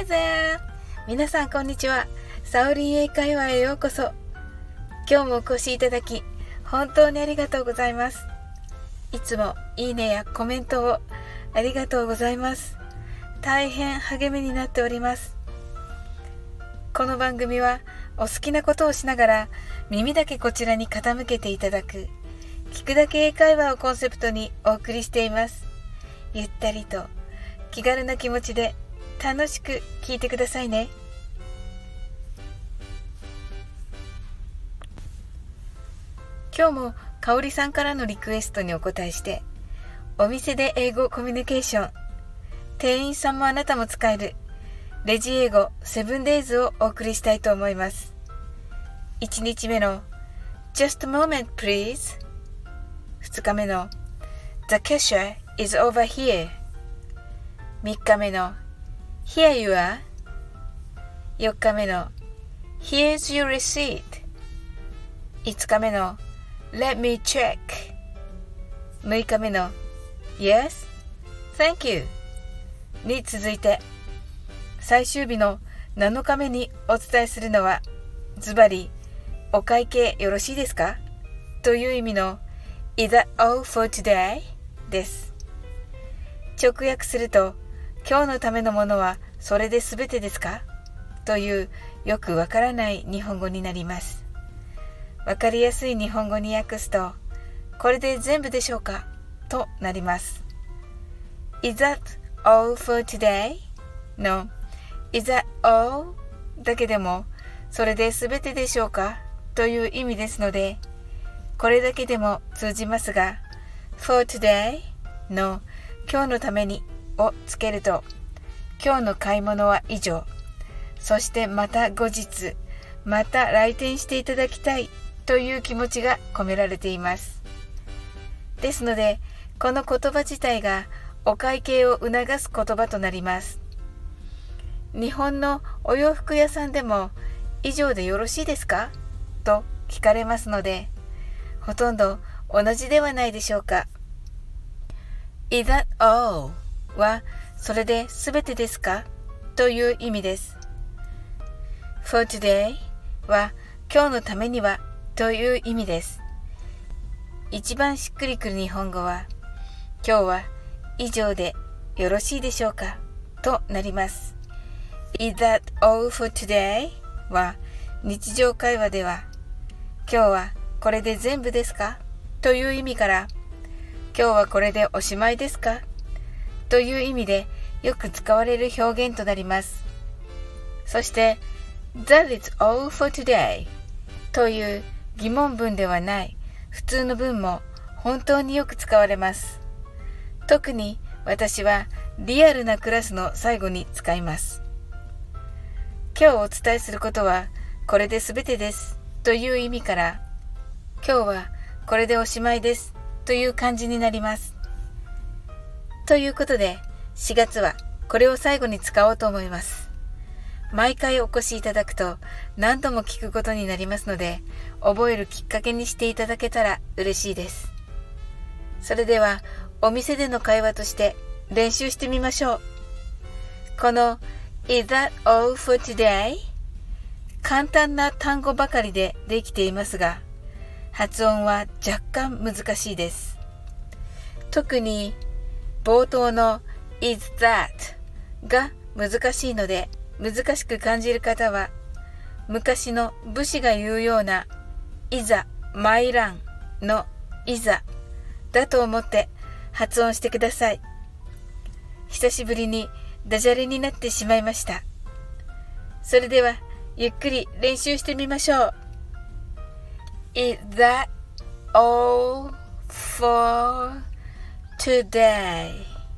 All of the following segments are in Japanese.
Hi there! 皆さんこんにちは。サオリン英会話へようこそ。今日もお越しいただき本当にありがとうございます。いつもいいねやコメントをありがとうございます。大変励みになっております。この番組はお好きなことをしながら耳だけこちらに傾けていただく聞くだけ英会話をコンセプトにお送りしています。ゆったりと気軽な気持ちで楽しく聞いてくださいね。今日もかおりさんからのリクエストにお答えして、お店で英語コミュニケーション、店員さんもあなたも使えるレジ英語7daysをお送りしたいと思います。1日目の Just a moment please、 2日目の The cashier is over here、 3日目の Here you are、 4日目の Here's your receipt、 5日目の Let me check、 6日目の Yes, thank you に続いて、最終日の7日目にお伝えするのは、ズバリお会計よろしいですかという意味の Is that all for today? です。直訳すると、今日のためのものはそれで全てですかというよくわからない日本語になります。わかりやすい日本語に訳すと、これで全部でしょうかとなります。Is that all for today? の Is that all? だけでもそれで全てでしょうかという意味ですので、これだけでも通じますが、For today の今日のためにをつけると、今日の買い物は以上、そしてまた後日また来店していただきたいという気持ちが込められています。ですので、この言葉自体がお会計を促す言葉となります。日本のお洋服屋さんでも以上でよろしいですかと聞かれますので、ほとんど同じではないでしょうか。Is that all? はそれで全てですかという意味です。For today は今日のためにはという意味です。一番しっくりくる日本語は、今日は以上でよろしいでしょうかとなります。Is that all for today? は日常会話では、今日はこれで全部ですかという意味から、今日はこれでおしまいですかという意味でよく使われる表現となります。そして That is all for today という疑問文ではない普通の文も本当によく使われます。特に私はリアルなクラスの最後に使います。今日お伝えすることはこれで全てですという意味から、今日はこれでおしまいですという感じになります。ということで、4月はこれを最後に使おうと思います。毎回お越しいただくと何度も聞くことになりますので、覚えるきっかけにしていただけたら嬉しいです。それではお店での会話として練習してみましょう。この Is that all for today? 簡単な単語ばかりでできていますが、発音は若干難しいです。特に冒頭の Is that が難しいので、難しく感じる方は、昔の武士が言うようないざ参らんのいざだと思って発音してください。久しぶりにダジャレになってしまいました。それではゆっくり練習してみましょう。Is that all for today?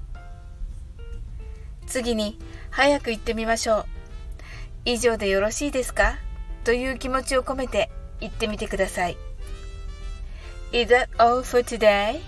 次に早く言ってみましょう。以上でよろしいですかという気持ちを込めて言ってみてください。Is that all for today?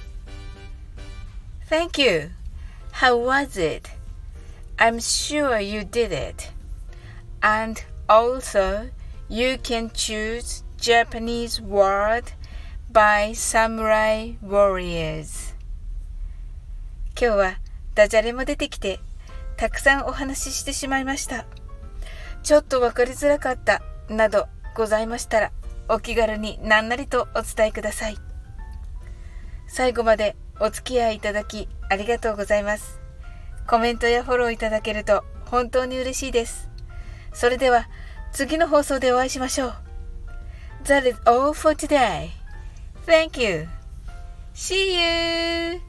Thank you. How was it? I'm sure you did it. And also, you can choose Japanese word by Samurai Warriors. 今日はダジャレも出てきてたくさんお話ししてしまいました。ちょっとわかりづらかったなどございましたら、お気軽に何なりとお伝えください。最後までお付き合いいただきありがとうございます。コメントやフォローいただけると本当に嬉しいです。それでは次の放送でお会いしましょう。That is all for today. Thank you. See you.